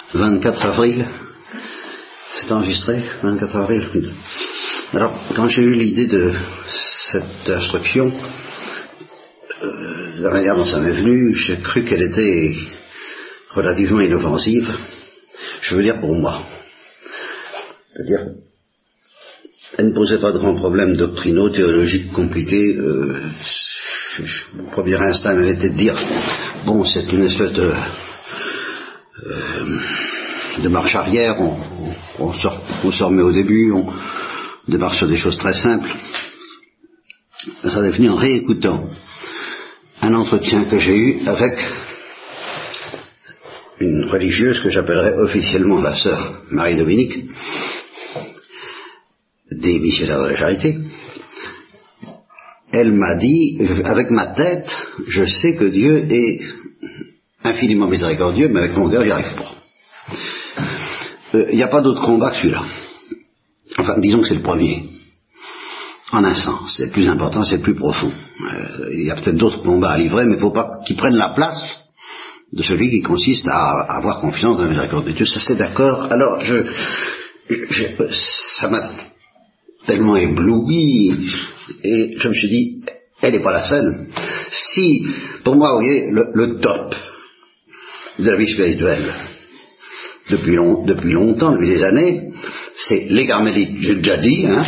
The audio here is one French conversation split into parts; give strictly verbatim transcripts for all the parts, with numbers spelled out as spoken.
vingt-quatre avril, c'est enregistré, vingt-quatre avril. Alors, quand j'ai eu l'idée de cette instruction, euh, la manière dont ça m'est venu, j'ai cru qu'elle était relativement inoffensive, je veux dire pour moi. C'est-à-dire, elle ne posait pas de grands problèmes doctrinaux, théologiques compliqués. Euh, je, je, mon premier instinct m'avait été de dire, bon, c'est une espèce de... Euh, de marche arrière, on, on, on, sort, on se remet au début, on démarre sur des choses très simples. Ça m'est venu en réécoutant un entretien que j'ai eu avec une religieuse que j'appellerais officiellement la sœur Marie-Dominique, des missionnaires de la charité. Elle m'a dit, avec ma tête, je sais que Dieu est infiniment miséricordieux, mais avec mon cœur, j'y arrive pas. Il n'y a pas d'autre combat que celui-là. Enfin, disons que c'est le premier. En un sens, c'est le plus important, c'est le plus profond. Euh, il y a peut-être d'autres combats à livrer, mais il ne faut pas qu'ils prennent la place de celui qui consiste à, à avoir confiance dans la miséricorde de Dieu. Ça, c'est d'accord. Alors, je, je, ça m'a tellement ébloui, et je me suis dit, elle n'est pas la seule. Si, pour moi, vous voyez, le, le top de la vie spirituelle, depuis, long, depuis longtemps, depuis des années, c'est les carmélites, j'ai déjà dit, hein,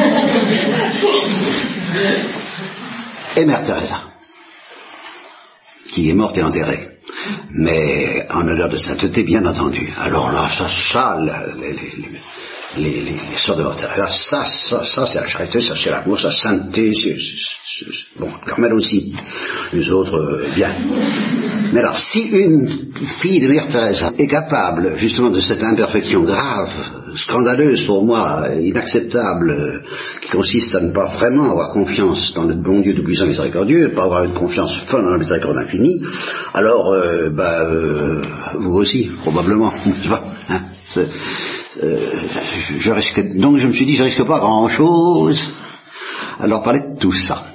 et Mère Teresa, qui est morte et enterrée, mais en honneur de sainteté, bien entendu. Alors là, ça, ça, les, les, les, les, les sœurs de Mère Teresa, ça, ça, ça, c'est la charité, ça, c'est l'amour, ça, sainteté, c'est, c'est, c'est, bon, Carmel aussi, les autres, euh, bien. Mais alors, si une fille de Mère Teresa est capable, justement, de cette imperfection grave, scandaleuse pour moi, inacceptable, qui consiste à ne pas vraiment avoir confiance dans le bon Dieu tout-puissant miséricordieux, pas avoir une confiance folle dans la miséricorde infinie, alors, euh, bah, euh, vous aussi, probablement, hein, c'est, euh, je, je risque, donc je me suis dit, je risque pas grand-chose à leur parler de tout ça.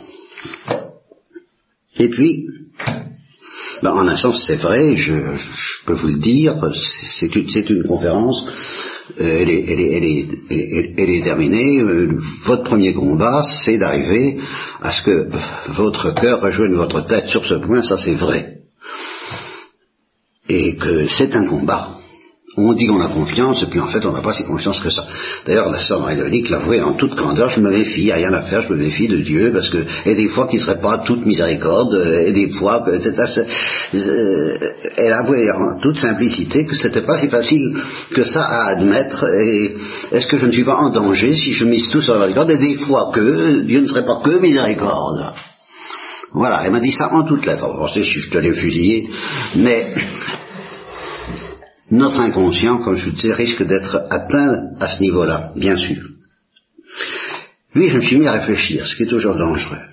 Et puis, ben, en un sens, c'est vrai, je, je peux vous le dire, c'est une, c'est une conférence, euh, elle, est, elle, est, elle, est, elle, elle est terminée. Euh, votre premier combat, c'est d'arriver à ce que votre cœur rejoigne votre tête sur ce point, ça c'est vrai. Et que c'est un combat. On dit qu'on a confiance, et puis en fait on n'a pas si confiance que ça. D'ailleurs la sœur Marie-Dominique l'avouait en toute candeur, je me méfie, il n'y a rien à faire, je me méfie de Dieu, parce que, et des fois qu'il ne serait pas toute miséricorde, et des fois, et cetera. Elle avouait en toute simplicité que c'était pas si facile que ça à admettre, et est-ce que je ne suis pas en danger si je mise tout sur la miséricorde, et des fois que Dieu ne serait pas que miséricorde. Voilà, elle m'a dit ça en toutes lettres. Vous pensez si je te l'ai fusillé, mais notre inconscient, comme je vous disais, risque d'être atteint à ce niveau-là, bien sûr. Puis je me suis mis à réfléchir, ce qui est toujours dangereux.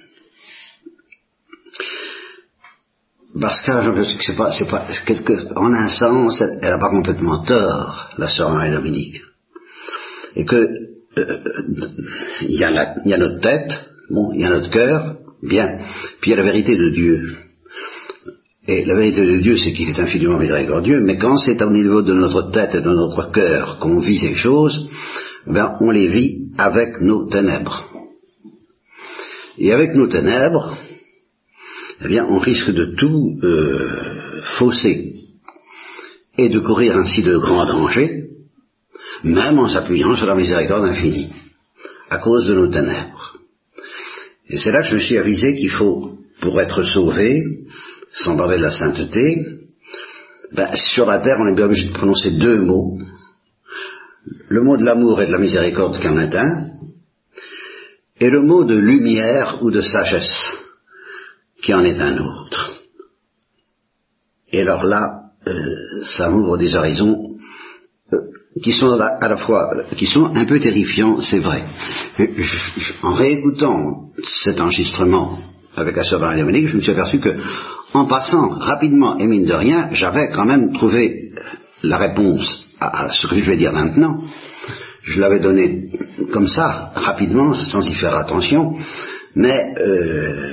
Parce que c'est pas, c'est pas, c'est quelque, en un sens, elle n'a pas complètement tort, la sœur Marie-Dominique. Et que euh, il y a la, il y a notre tête, bon, il y a notre cœur, bien, puis il y a la vérité de Dieu. Et la vérité de Dieu, c'est qu'il est infiniment miséricordieux, mais quand c'est au niveau de notre tête et de notre cœur qu'on vit ces choses, ben on les vit avec nos ténèbres. Et avec nos ténèbres, eh bien, on risque de tout euh, fausser et de courir ainsi de grands dangers, même en s'appuyant sur la miséricorde infinie, à cause de nos ténèbres. Et c'est là que je me suis avisé qu'il faut, pour être sauvé, sans parler de la sainteté, ben, sur la terre, on est bien obligé de prononcer deux mots. Le mot de l'amour et de la miséricorde qui en est un, et le mot de lumière ou de sagesse qui en est un autre. Et alors là, euh, ça ouvre des horizons euh, qui sont à la fois, qui sont un peu terrifiants, c'est vrai. Je, je, en réécoutant cet enregistrement avec la sœur Marie-Dominique, je me suis aperçu que, en passant rapidement et mine de rien, j'avais quand même trouvé la réponse à, à ce que je vais dire maintenant. Je l'avais donné comme ça, rapidement, sans y faire attention, mais euh,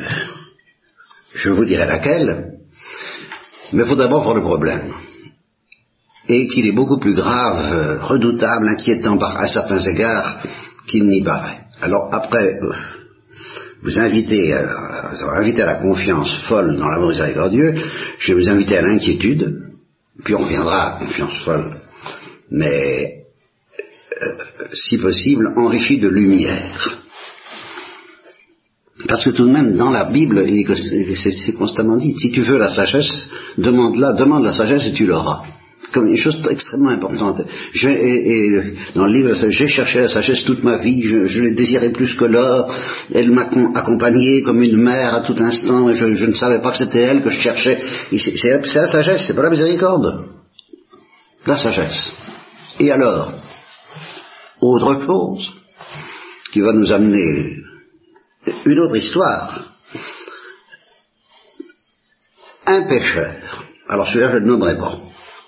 je vous dirai laquelle. Mais il faut d'abord voir le problème. et qu'il est beaucoup plus grave, euh, redoutable, inquiétant par, à certains égards qu'il n'y paraît. Alors après, euh, vous invitez, euh, vous avez invité à la confiance folle dans l'amour miséricordieux, je vais vous inviter à l'inquiétude, puis on reviendra à la confiance folle, mais euh, si possible enrichi de lumière. Parce que tout de même, dans la Bible, c'est constamment dit, si tu veux la sagesse, demande-la, demande la sagesse et tu l'auras. Comme une chose extrêmement importante. Je, et, et dans le livre, j'ai cherché la sagesse toute ma vie, je, je l'ai désirée plus que l'or, elle m'a accompagné comme une mère à tout instant, et je, je ne savais pas que c'était elle que je cherchais. C'est la sagesse, c'est pas la miséricorde. La sagesse. Et alors, autre chose qui va nous amener une autre histoire. Un pécheur, alors celui-là je ne le nommerai pas.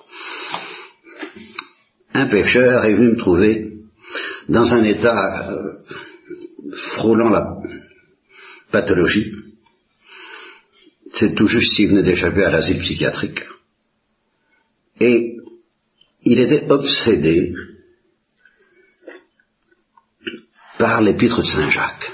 Un pécheur est venu me trouver dans un état euh, frôlant la pathologie. C'est tout juste s'il venait d'échapper à l'asile psychiatrique. Et il était obsédé par l'épître de Saint Jacques.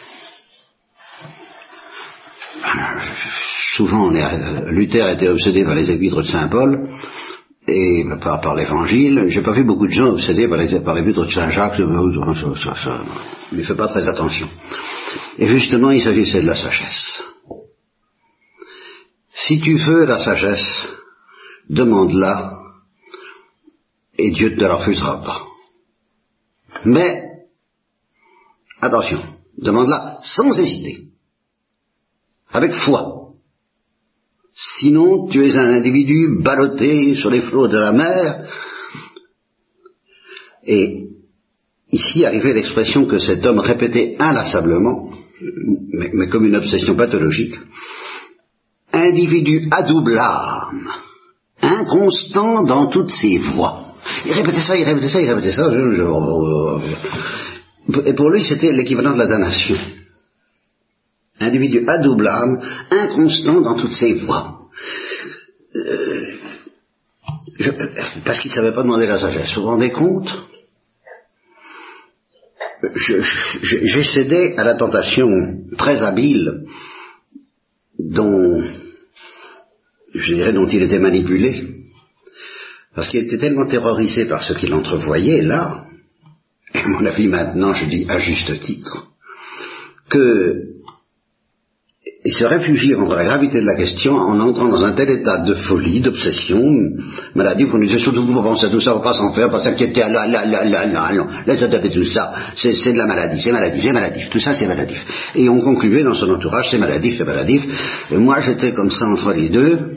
Souvent, on est, Luther était obsédé par les épîtres de Saint Paul, et par, par l'évangile. J'ai pas vu beaucoup de gens obsédés par les, par l'épître de Saint Jacques, ça, ça, ça, il ne fait pas très attention. Et justement, il s'agissait de la sagesse. Si tu veux la sagesse, demande-la, et Dieu ne te la refusera pas. Mais, attention, demande-la sans hésiter, avec foi. Sinon, tu es un individu ballotté sur les flots de la mer. Et ici arrivait l'expression que cet homme répétait inlassablement, mais, mais comme une obsession pathologique. Individu à double âme, inconstant dans toutes ses voies. Il répétait ça, il répétait ça, il répétait ça. Je, je, et pour lui, c'était l'équivalent de la damnation. Individu à double âme, inconstant dans toutes ses voies. Euh, je, parce qu'il ne savait pas demander la sagesse. Vous vous rendez compte? je, je, J'ai cédé à la tentation très habile dont, je dirais, dont il était manipulé. Parce qu'il était tellement terrorisé par ce qu'il entrevoyait là, et à mon avis maintenant, je dis à juste titre, que il se réfugie contre la gravité de la question en entrant dans un tel état de folie, d'obsession, maladie, qu'on disait surtout vous pensez à tout ça, on va pas s'en faire, pas s'inquiéter, là, là, là, là, là, non, laisse taper tout ça, c'est, c'est de la maladie, c'est maladif, c'est maladif, tout ça c'est maladif. Et on concluait dans son entourage, c'est maladif, c'est maladif, et moi j'étais comme ça entre les deux.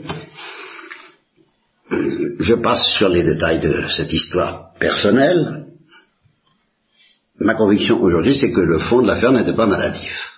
Je passe sur les détails de cette histoire personnelle. Ma conviction aujourd'hui, c'est que le fond de l'affaire n'était pas maladif.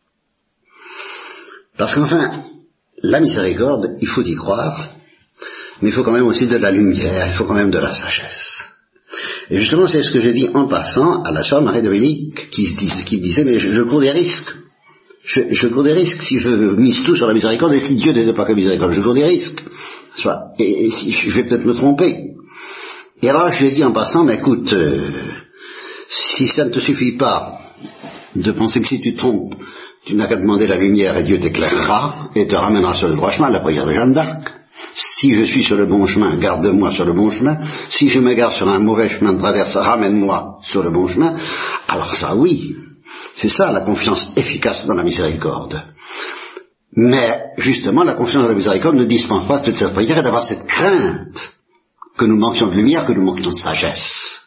Parce qu'enfin, la miséricorde, il faut y croire, mais il faut quand même aussi de la lumière, il faut quand même de la sagesse. Et justement, c'est ce que j'ai dit en passant à la sœur Marie-Dominique, qui, qui disait, mais je, je cours des risques. Je, je cours des risques si je mise tout sur la miséricorde, et si Dieu n'était pas que miséricorde, je cours des risques. Soit, et, et si, je vais peut-être me tromper. Et alors je lui ai dit en passant, mais écoute, euh, si ça ne te suffit pas de penser que si tu te trompes, tu n'as qu'à demander la lumière et Dieu t'éclairera et te ramènera sur le droit chemin, la prière de Jeanne d'Arc. Si je suis sur le bon chemin, garde-moi sur le bon chemin. Si je m'égare sur un mauvais chemin de traverse, ramène-moi sur le bon chemin. Alors ça, oui, c'est ça la confiance efficace dans la miséricorde. Mais, justement, la confiance dans la miséricorde ne dispense pas toute cette prière et d'avoir cette crainte que nous manquions de lumière, que nous manquions de sagesse.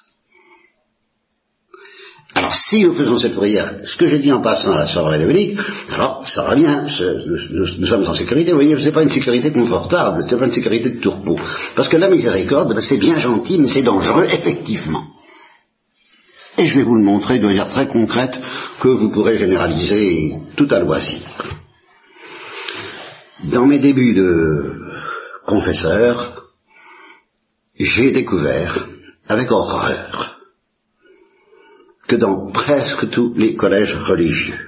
Alors, si nous faisons cette prière, ce que j'ai dit en passant à la sœur Marie-Dominique, alors, ça va bien, nous, nous, nous sommes en sécurité, vous voyez, c'est pas une sécurité confortable, c'est pas une sécurité de tourpeau. Parce que la miséricorde, ben, c'est bien gentil, mais c'est dangereux, effectivement. Et je vais vous le montrer de manière très concrète, que vous pourrez généraliser tout à loisir. Dans mes débuts de confesseur, j'ai découvert, avec horreur, que dans presque tous les collèges religieux,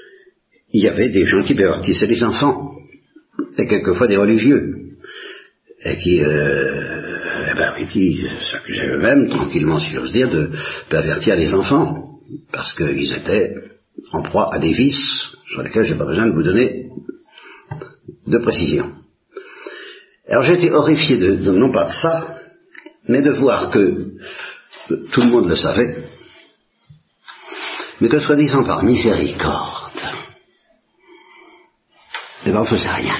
il y avait des gens qui pervertissaient les enfants, et quelquefois des religieux. et qui, euh, eh ben oui, qui s'accusaient eux-mêmes, tranquillement si j'ose dire, de pervertir les enfants, parce qu'ils étaient en proie à des vices sur lesquels je n'ai pas besoin de vous donner de précision. Alors j'ai été horrifié de, de, non pas de ça, mais de voir que tout le monde le savait, mais que soi-disant par miséricorde, eh ben on ne faisait rien.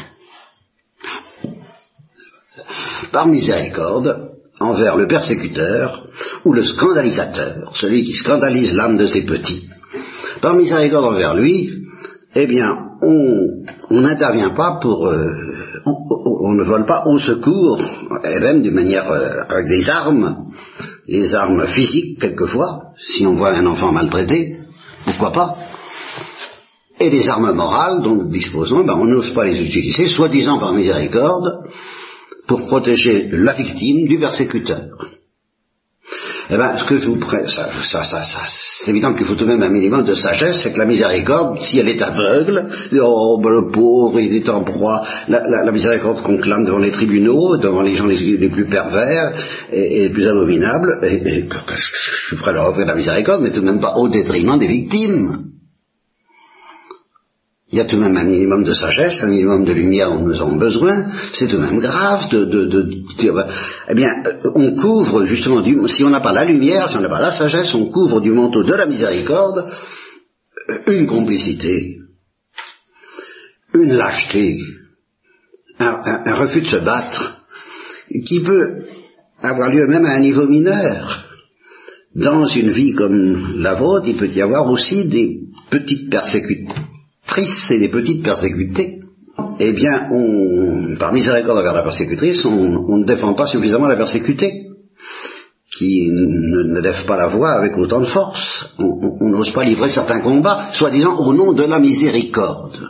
Par miséricorde, envers le persécuteur ou le scandalisateur, celui qui scandalise l'âme de ses petits, par miséricorde envers lui, eh bien, on n'intervient pas pour... Euh, on, on, on ne vole pas au secours, et même d'une manière... Euh, avec des armes, des armes physiques quelquefois, si on voit un enfant maltraité, pourquoi pas, et des armes morales dont nous disposons, ben, on n'ose pas les utiliser, soi-disant par miséricorde, pour protéger la victime du persécuteur. Eh bien, ce que je vous prête, ça, ça, ça, ça, c'est évident qu'il faut tout de même un minimum de sagesse, c'est que la miséricorde, si elle est aveugle, oh, ben, le pauvre, il est en proie, la, la, la miséricorde qu'on clame devant les tribunaux, devant les gens les, les plus pervers et, et les plus abominables, et, et que, que je, je suis prêt à leur offrir la miséricorde, mais tout de même pas au détriment des victimes. Il y a tout de même un minimum de sagesse, un minimum de lumière dont nous avons besoin. C'est tout de même grave de, de, de, de dire, eh bien, on couvre justement, du, si on n'a pas la lumière, si on n'a pas la sagesse, on couvre du manteau de la miséricorde une complicité, une lâcheté, un, un, un refus de se battre, qui peut avoir lieu même à un niveau mineur. Dans une vie comme la vôtre, il peut y avoir aussi des petites persécutions. Et des petites persécutées, eh bien, on, par miséricorde envers la persécutrice, on, on ne défend pas suffisamment la persécutée, qui ne, ne lève pas la voix avec autant de force. On n'ose pas livrer certains combats, soi-disant au nom de la miséricorde.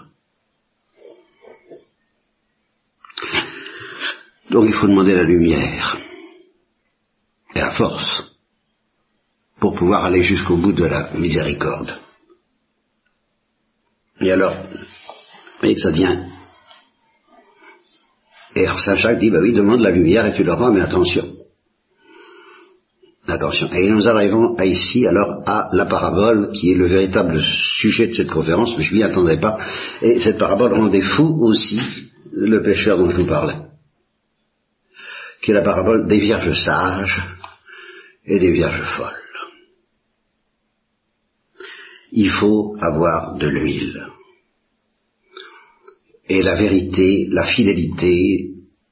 Donc il faut demander la lumière et la force pour pouvoir aller jusqu'au bout de la miséricorde. Et alors, vous voyez que ça vient. Et alors Saint Jacques dit, bah oui, demande la lumière et tu l'auras, mais attention. Attention. Et nous arrivons à ici, alors, à la parabole, qui est le véritable sujet de cette conférence, mais je m'y attendais pas. Et cette parabole rendait fou aussi le pécheur dont je vous parlais, qui est la parabole des vierges sages et des vierges folles. Il faut avoir de l'huile. Et la vérité, la fidélité,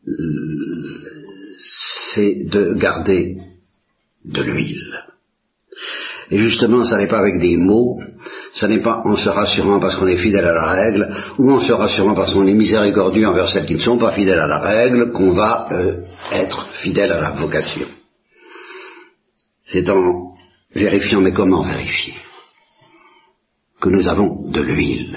c'est de garder de l'huile. Et justement, ça n'est pas avec des mots, ça n'est pas en se rassurant parce qu'on est fidèle à la règle, ou en se rassurant parce qu'on est miséricordieux envers celles qui ne sont pas fidèles à la règle, qu'on va euh, être fidèle à la vocation. C'est en vérifiant, mais comment vérifier ? Que nous avons de l'huile.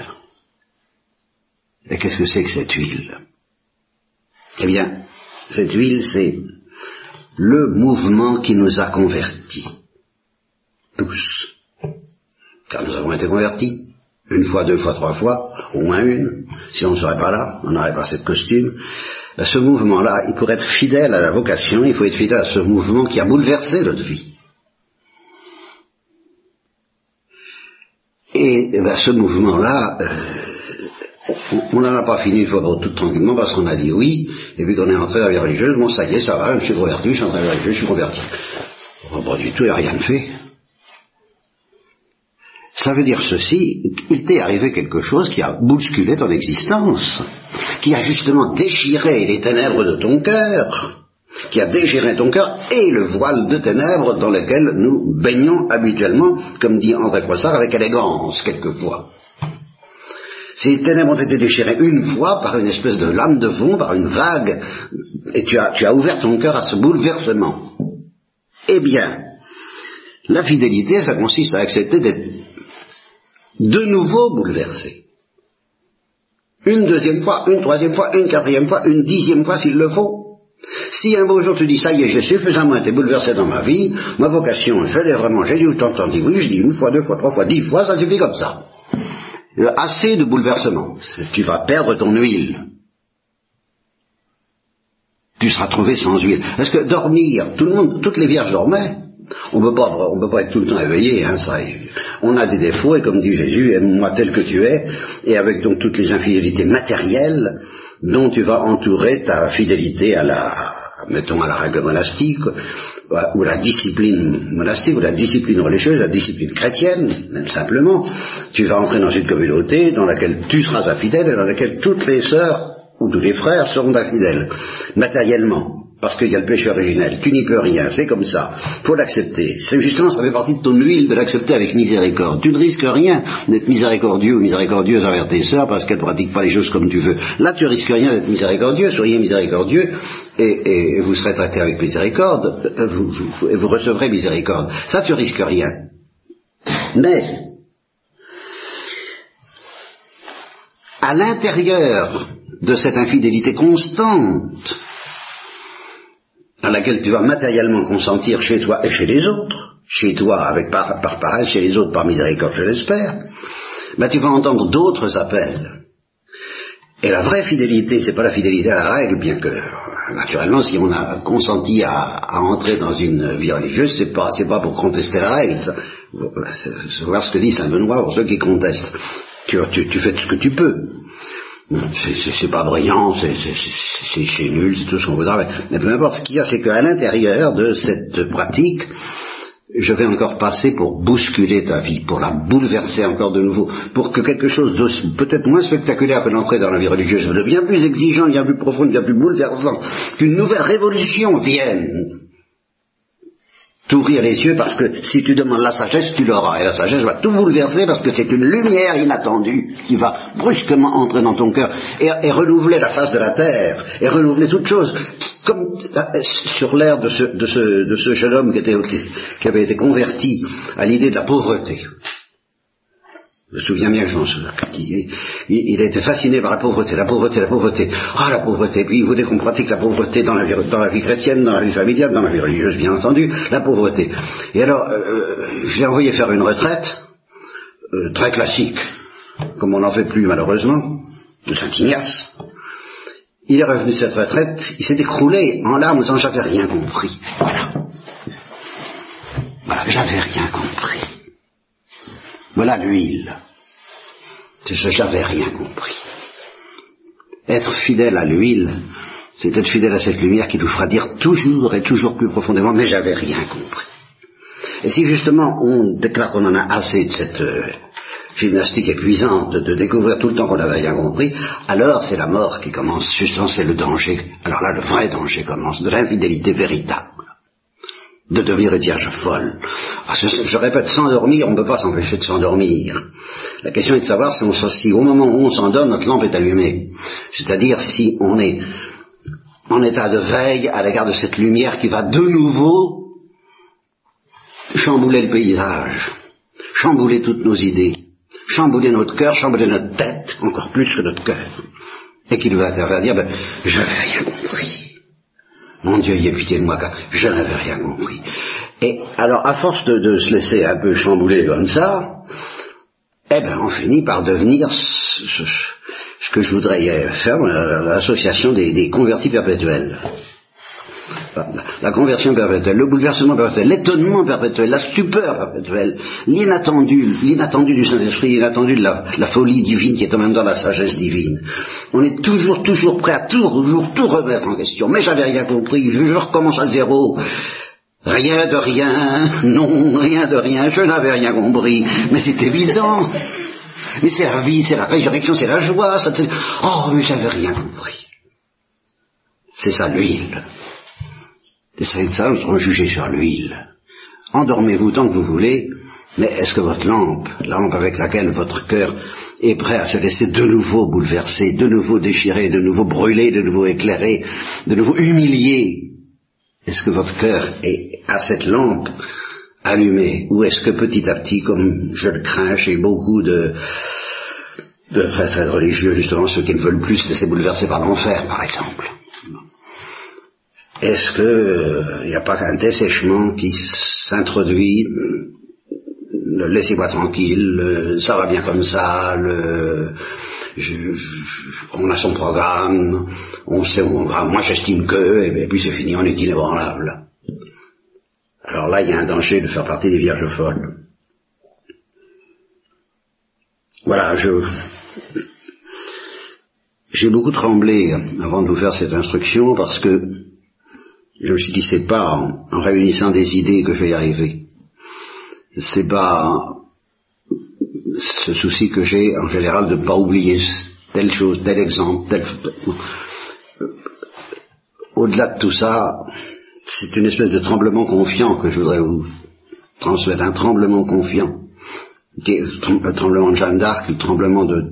Et qu'est-ce que c'est que cette huile ? Eh bien, cette huile, c'est le mouvement qui nous a convertis. Tous. Car nous avons été convertis. Une fois, deux fois, trois fois, au moins une. Si on ne serait pas là, on n'aurait pas cette costume. Ben, ce mouvement-là, il pour être fidèle à la vocation, il faut être fidèle à ce mouvement qui a bouleversé notre vie. Et, et ben, ce mouvement-là, euh, on n'en a pas fini une fois pour toutes tranquillement parce qu'on a dit oui, et puis qu'on est rentré dans la vie religieuse, bon ça y est, ça va, je me suis converti, je suis rentré dans la vie religieuse, je suis converti. Oh, pas du tout, il n'y a rien de fait. Ça veut dire ceci, il t'est arrivé quelque chose qui a bousculé ton existence, qui a justement déchiré les ténèbres de ton cœur, qui a déchiré ton cœur et le voile de ténèbres dans lequel nous baignons habituellement, comme dit André Froissart, avec élégance quelquefois. Ces ténèbres ont été déchirées une fois par une espèce de lame de fond, par une vague, et tu as, tu as ouvert ton cœur à ce bouleversement. Eh bien, la fidélité, ça consiste à accepter d'être de nouveau bouleversé. Une deuxième fois, une troisième fois, une quatrième fois, une dixième fois s'il le faut. Si un beau jour tu dis, ça y est, j'ai suffisamment été bouleversé dans ma vie, ma vocation, je l'ai vraiment, j'ai dit, t'entends, dit oui, je dis une fois, deux fois, trois fois, dix fois, ça suffit comme ça. Euh, assez de bouleversement. Tu vas perdre ton huile. tu seras trouvé sans huile. Parce que dormir, tout le monde, toutes les vierges dormaient. On peut pas, on peut pas être tout le temps éveillé, hein, ça. On a des défauts, et comme dit Jésus, aime-moi tel que tu es, et avec donc toutes les infidélités matérielles dont tu vas entourer ta fidélité à la, mettons, à la règle monastique, ou la discipline monastique, ou la discipline religieuse, la discipline chrétienne, même simplement. Tu vas entrer dans une communauté dans laquelle tu seras infidèle, et dans laquelle toutes les sœurs ou tous les frères seront infidèles, matériellement. Parce qu'il y a le péché originel, tu n'y peux rien, c'est comme ça, faut l'accepter. C'est justement, ça fait partie de ton huile de l'accepter avec miséricorde. Tu ne risques rien d'être miséricordieux ou miséricordieuse envers tes sœurs parce qu'elles ne pratiquent pas les choses comme tu veux. Là, tu risques rien d'être miséricordieux, soyez miséricordieux et, et vous serez traité avec miséricorde, vous, vous, et vous recevrez miséricorde. Ça, tu risques rien. Mais, à l'intérieur de cette infidélité constante, à laquelle tu vas matériellement consentir chez toi et chez les autres, chez toi avec par, par paresse, chez les autres par miséricorde, je l'espère, ben tu vas entendre d'autres appels. Et la vraie fidélité, c'est pas la fidélité à la règle, bien que, naturellement, si on a consenti à, à entrer dans une vie religieuse, c'est pas, c'est pas pour contester la règle, ça. C'est, c'est voir ce que dit Saint Benoît pour ceux qui contestent. Tu, tu, tu fais ce que tu peux. C'est, c'est, c'est pas brillant, c'est, c'est, c'est, c'est nul, c'est tout ce qu'on voudra, mais, mais peu importe, ce qu'il y a, c'est qu'à l'intérieur de cette pratique, je vais encore passer pour bousculer ta vie, pour la bouleverser encore de nouveau, pour que quelque chose de peut-être moins spectaculaire que l'entrée dans la vie religieuse, de bien plus exigeant, bien plus profond, bien plus bouleversant, qu'une nouvelle révolution vienne t'ouvrir les yeux, parce que si tu demandes la sagesse, tu l'auras, et la sagesse va tout bouleverser, parce que c'est une lumière inattendue qui va brusquement entrer dans ton cœur et, et renouveler la face de la terre, et renouveler toute chose, comme sur l'air de ce, de, ce, de ce jeune homme qui, était, qui, qui avait été converti à l'idée de la pauvreté. Je me souviens bien, je m'en souviens, il, il, il a été fasciné par la pauvreté, la pauvreté, la pauvreté, ah la pauvreté, puis il voulait qu'on pratique la pauvreté dans la, vie, dans la vie chrétienne, dans la vie familiale, dans la vie religieuse bien entendu, la pauvreté. Et alors, euh, je l'ai envoyé faire une retraite, euh, très classique, comme on n'en fait plus malheureusement, de Saint-Ignace. Il est revenu de cette retraite, il s'est écroulé en larmes en disant j'avais rien compris. Voilà. Voilà, j'avais rien compris. Voilà l'huile. C'est ce j'avais rien compris. Être fidèle à l'huile, c'est être fidèle à cette lumière qui nous fera dire toujours et toujours plus profondément, mais j'avais rien compris. Et si justement on déclare qu'on en a assez de cette euh, gymnastique épuisante, de, de découvrir tout le temps qu'on n'avait rien compris, alors c'est la mort qui commence, justement c'est le danger. Alors là le vrai danger commence, de l'infidélité véritable. De devenir une vierge folle. Parce que, je répète, s'endormir, on ne peut pas s'empêcher de s'endormir. La question est de savoir si, on, si au moment où on s'endort, notre lampe est allumée. C'est-à-dire si on est en état de veille à l'égard de cette lumière qui va de nouveau chambouler le paysage, chambouler toutes nos idées, chambouler notre cœur, chambouler notre tête, encore plus que notre cœur. Et qui nous va faire dire, ben, je n'avais rien compris. Mon Dieu, y ait pitié de moi, car je n'avais rien compris. Et alors, à force de, de se laisser un peu chambouler comme ça, eh ben, on finit par devenir ce, ce, ce que je voudrais faire, l'association des, des convertis perpétuels. La, la conversion perpétuelle, le bouleversement perpétuel, l'étonnement perpétuel, la stupeur perpétuelle, l'inattendu, l'inattendu du Saint-Esprit, l'inattendu de la, la folie divine qui est en même temps la sagesse divine. On est toujours, toujours prêt à toujours, tout remettre en question. Mais j'avais rien compris, je, je recommence à zéro. Rien de rien, non, rien de rien, je n'avais rien compris. Mais c'est évident. Mais c'est la vie, c'est la résurrection, c'est la joie. Ça, c'est... Oh, mais j'avais rien compris. C'est ça l'huile. C'est ça, nous serons jugés sur l'huile. Endormez-vous tant que vous voulez, mais est-ce que votre lampe, la lampe avec laquelle votre cœur est prêt à se laisser de nouveau bouleverser, de nouveau déchirer, de nouveau brûler, de nouveau éclairer, de nouveau humilier, est-ce que votre cœur est à cette lampe allumée, ou est-ce que petit à petit, comme je le crains chez beaucoup de, de prêtres religieux, justement ceux qui ne veulent plus se laisser bouleverser par l'enfer, par exemple, est-ce que il n'y a pas qu'un dessèchement qui s'introduit, le laissez-moi tranquille, le, ça va bien comme ça, le, je, je, on a son programme, on sait où on va, moi j'estime que, et puis c'est fini, on est inébranlable. Alors là, il y a un danger de faire partie des vierges folles. Voilà, je... J'ai beaucoup tremblé avant de vous faire cette instruction parce que je me suis dit, c'est pas en, en réunissant des idées que je vais y arriver. C'est pas ce souci que j'ai en général de ne pas oublier telle chose, tel exemple, tel... Au-delà de tout ça, c'est une espèce de tremblement confiant que je voudrais vous transmettre, un tremblement confiant, qui est le tremblement de Jeanne d'Arc, le tremblement de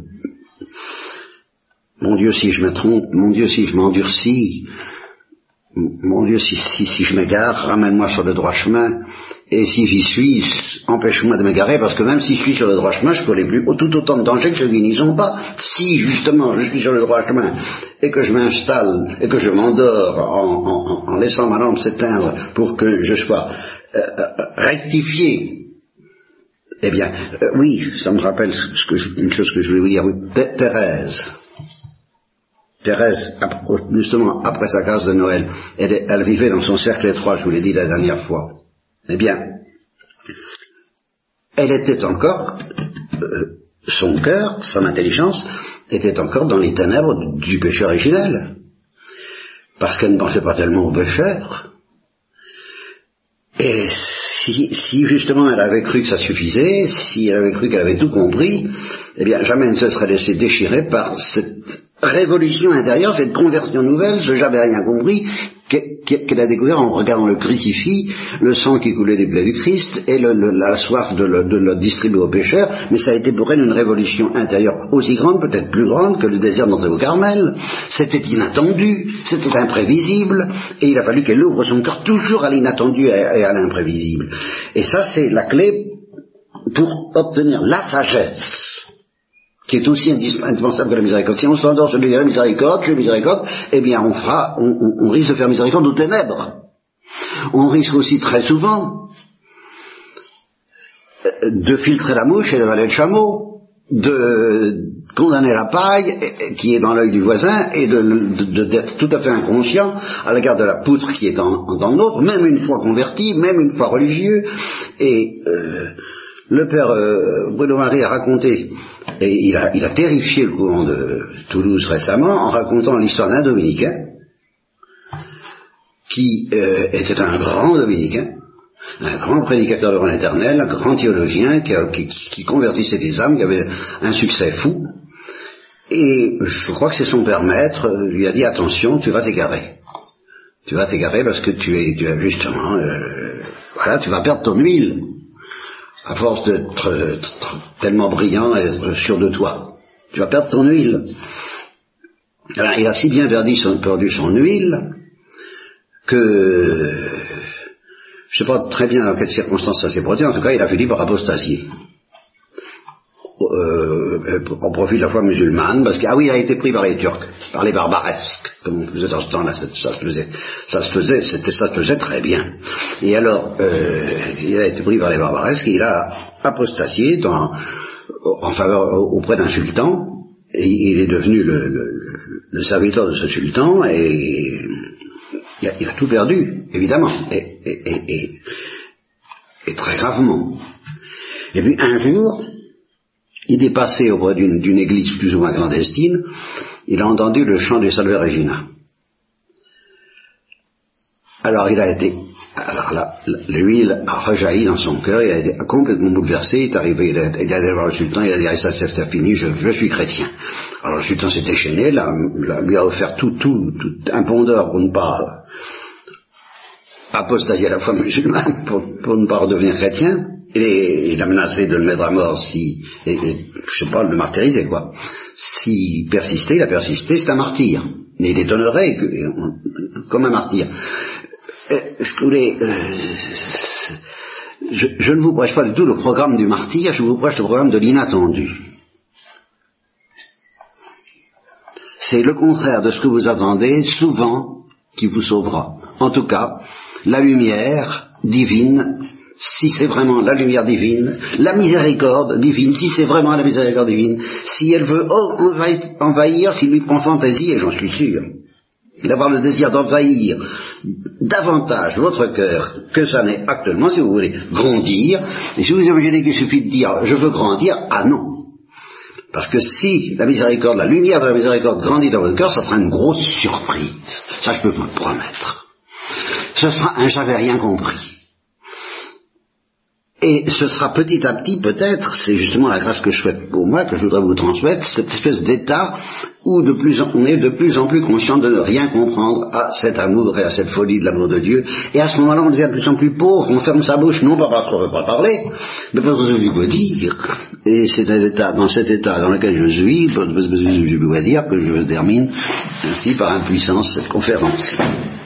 mon Dieu si je me trompe, mon Dieu si je m'endurcis, mon Dieu si, si, si je m'égare, ramène-moi sur le droit chemin, et si j'y suis, empêche-moi de m'égarer, parce que même si je suis sur le droit chemin, je peux aller plus tout autant de danger que ceux qui n'y sont pas. Si justement je suis sur le droit chemin, et que je m'installe, et que je m'endors en, en, en laissant ma lampe s'éteindre pour que je sois euh, rectifié, eh bien, euh, oui, ça me rappelle ce que je, une chose que je voulais vous dire, oui, Thérèse. Thérèse, justement, après sa grâce de Noël, elle, elle vivait dans son cercle étroit, je vous l'ai dit la dernière fois. Eh bien, elle était encore, euh, son cœur, son intelligence, était encore dans les ténèbres du péché originel. Parce qu'elle ne pensait pas tellement au pécheur. Et si, si justement elle avait cru que ça suffisait, si elle avait cru qu'elle avait tout compris, eh bien jamais elle ne se serait laissée déchirer par cette révolution intérieure, cette conversion nouvelle, ce j'avais rien compris, qu'elle a découvert en regardant le crucifix, le sang qui coulait des plaies du Christ et le, le, la soif de le, de le distribuer aux pécheurs, mais ça a été pour elle une révolution intérieure aussi grande, peut-être plus grande que le désir d'entrer au Carmel. C'était inattendu, c'était imprévisible, et il a fallu qu'elle ouvre son cœur toujours à l'inattendu et à l'imprévisible. Et ça, c'est la clé pour obtenir la sagesse, qui est aussi indispensable que la miséricorde. Si on s'endort sur la miséricorde, sur la miséricorde, eh bien on fera, on, on, on risque de faire miséricorde aux ténèbres. On risque aussi très souvent de filtrer la mouche et d'avaler le chameau, de condamner la paille qui est dans l'œil du voisin et de, de, de, d'être tout à fait inconscient à l'égard de la poutre qui est dans, dans l'autre, même une fois converti, même une fois religieux. Et euh, le père euh, Bruno Marie a raconté, et il a, il a terrifié le courant de Toulouse récemment en racontant l'histoire d'un dominicain qui euh, était un grand dominicain, un grand prédicateur de l'éternel, un grand théologien qui, a, qui, qui convertissait des âmes, qui avait un succès fou. Et je crois que c'est son père maître lui a dit attention, tu vas t'égarer. Tu vas t'égarer parce que tu es, tu as justement, euh, voilà, tu vas perdre ton huile. À force d'être tellement brillant et d'être sûr de toi, tu vas perdre ton huile. Alors, il a si bien perdu son, perdu son huile que je ne sais pas très bien dans quelles circonstances ça s'est produit. En tout cas, il a fini par apostasier euh, en profit de la foi musulmane, parce que ah oui, il a été pris par les Turcs, par les barbaresques, comme on faisait dans ce temps-là. Ça se faisait, ça se faisait, c'était, ça se faisait très bien. Et alors, euh, il a été pris par les barbaresques et il a apostasié dans, en faveur auprès d'un sultan. Et il est devenu le, le, le serviteur de ce sultan et il a, il a tout perdu, évidemment, et, et, et, et, et très gravement. Et puis un jour, il est passé auprès d'une, d'une église plus ou moins clandestine, il a entendu le chant du Salve Regina. Alors il a été, alors là, l'huile a rejailli dans son cœur, il a été complètement bouleversé, il est arrivé, il est allé voir le sultan, il a dit, ça c'est, c'est fini, je, je suis chrétien. Alors le sultan s'est déchaîné, là, là, lui a offert tout, tout, tout un pondeur pour ne pas apostasier à la foi musulmane, pour, pour ne pas redevenir chrétien. Et il a menacé de le mettre à mort si, et, et, je sais pas, de le martyriser, quoi. S'il persistait, il a persisté, c'est un martyr. Et il est honoré que, comme un martyr. Euh, je voulais, euh, je, je ne vous prêche pas du tout le programme du martyr, je vous prêche le programme de l'inattendu. C'est le contraire de ce que vous attendez, souvent, qui vous sauvera. En tout cas, la lumière divine si c'est vraiment la lumière divine, la miséricorde divine, si c'est vraiment la miséricorde divine, si elle veut envahir, envahir s'il lui prend fantaisie, et j'en suis sûr, d'avoir le désir d'envahir davantage votre cœur que ça n'est actuellement, si vous voulez grandir, et si vous imaginez qu'il suffit de dire je veux grandir, ah non. Parce que si la miséricorde, la lumière de la miséricorde grandit dans votre cœur, ça sera une grosse surprise. Ça, je peux vous le promettre. Ce sera un j'avais rien compris. Et ce sera petit à petit, peut-être, c'est justement la grâce que je souhaite pour moi, que je voudrais vous transmettre, cette espèce d'état où de plus en, on est de plus en plus conscient de ne rien comprendre à cet amour et à cette folie de l'amour de Dieu. Et à ce moment-là, on devient de plus en plus pauvre, on ferme sa bouche, non pas parce qu'on ne veut pas parler, mais parce qu'on ne veut pas dire. Et c'est un état, dans cet état dans lequel je suis, je dois dire que je termine ainsi par impuissance cette conférence.